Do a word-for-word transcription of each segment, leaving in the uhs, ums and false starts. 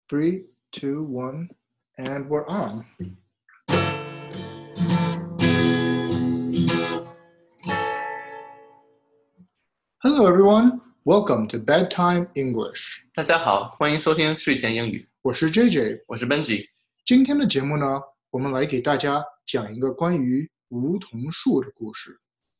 Three, two, one, and we're on. Hello, everyone. Welcome to Bedtime English. 大家好，欢迎收听睡前英语。 我是 J J， 我是 Benji。 今天的节目呢，我们来给大家讲一个关于梧桐树的故事。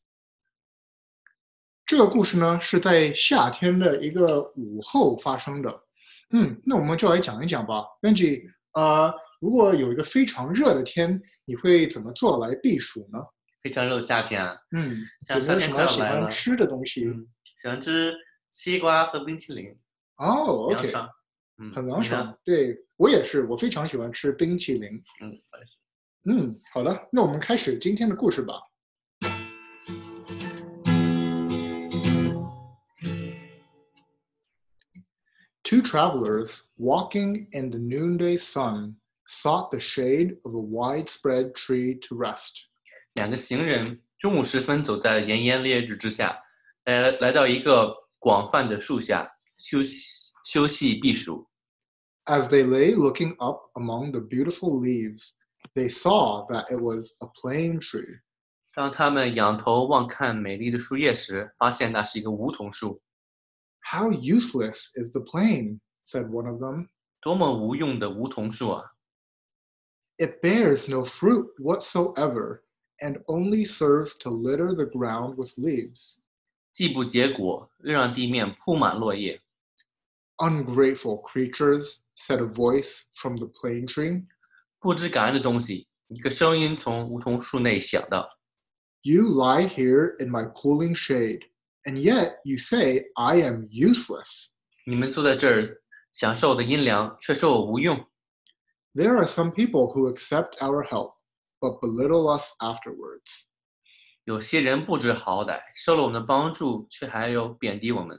这个故事呢，是在夏天的一个午后发生的。嗯，那我们就来讲一讲吧。Benji， 呃，如果有一个非常热的天，你会怎么做来避暑呢？ 非常热的夏天啊， 嗯， 像夏天快要来了， 有没有什么喜欢吃的东西？ 嗯，喜欢吃西瓜和冰淇淋。 哦 ，OK， 爽，嗯， 很凉爽。对，我也是，我非常喜欢吃冰淇淋。 嗯，我也是。 嗯，好的，那我们开始今天的故事吧。Two travelers walking in the noonday sun sought the shade of a widespread tree to rest. 两个行人中午时分走在炎炎烈日之下，来来到一个广泛的树下休息休息避暑。 As they lay looking up among the beautiful leaves, they saw that it was a plane tree. 当他们仰头望看美丽的树叶时，发现那是一个梧桐树。 How useless is the plane, said one of them. 多么无用的梧桐树啊！ It bears no fruit whatsoever, and only serves to litter the ground with leaves. 既不结果，又让地面铺满落叶。 Ungrateful creatures, said a voice from the plane tree. 不知感恩的东西，一个声音从梧桐树内响道 You lie here in my cooling shade, and yet you say I am useless. 你们坐在这儿享受的阴凉，却说我无用。 There are some people who accept our help, but belittle us afterwards. 有些人不知好歹，受了我们的帮助，却还要贬低我们。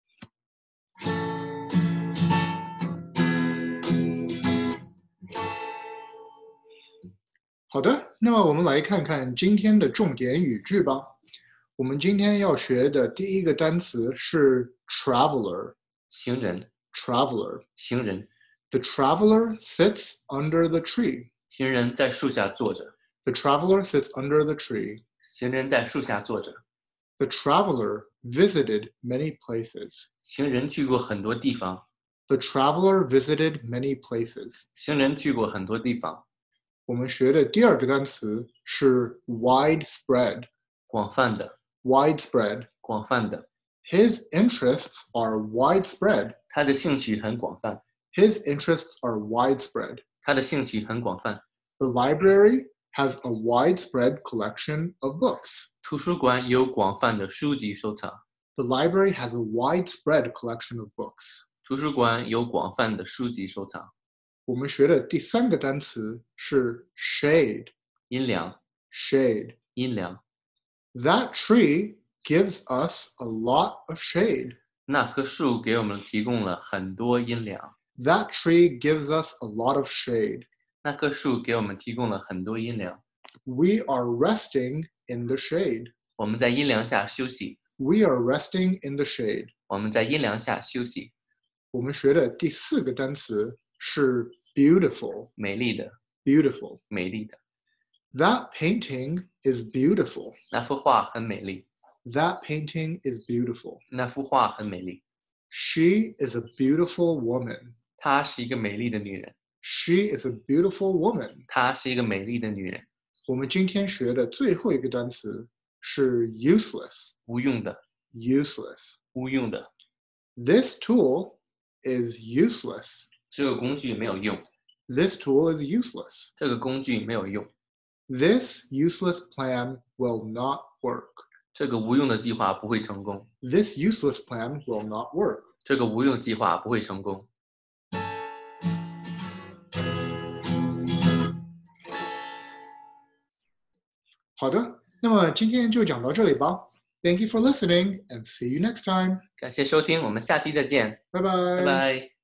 好的，那么我们来看看今天的重点语句吧。我们今天要学的第一个单词是 traveler， 行人 traveler， 行人 The traveler sits under the tree. 行人在树下坐着 The traveler sits under the tree. 行人在树下坐着 The traveler visited many places. 行人去过很多地方 The traveler visited many places. 行人去过很多地方。 我们学的第二个单词是 widespread. 广泛的 Widespread. 广泛的 His interests are widespread. 他的兴趣很广泛 His interests are widespread. 他的兴趣很广泛 The library has a widespread collection of books. 图书馆有广泛的书籍收藏 The library has a widespread collection of books. 图书馆有广泛的书籍收藏。 我们学的第三个单词是 shade. 阴凉 Shade. 阴凉 That tree gives us a lot of shade. 那棵树给我们提供了很多阴凉 That tree gives us a lot of shade. 那棵树给我们提供了很多阴凉 We are resting in the shade. 我们在阴凉下休息 We are resting in the shade. 我们在阴凉下休息我们学的第四个单词是 beautiful. 美丽的 Beautiful. 美丽的 That painting is beautiful. 那幅画很美丽 That painting is beautiful. 那幅画很美丽 She is a beautiful woman. 她是一个美丽的女人 She is a beautiful woman. 她是一个美丽的女人我们今天学的最后一个单词是 useless. 无用的 Useless. 无用的 This tool is useless. 这个工具没有用 This tool is useless. 这个工具没有用 This useless plan will not work. 这个无用的计划不会成功 This useless plan will not work. 这个无用计划不会成功好的，那么今天就讲到这里吧。Thank you for listening and see you next time. 感谢收听，我们下期再见， 拜拜。 拜拜。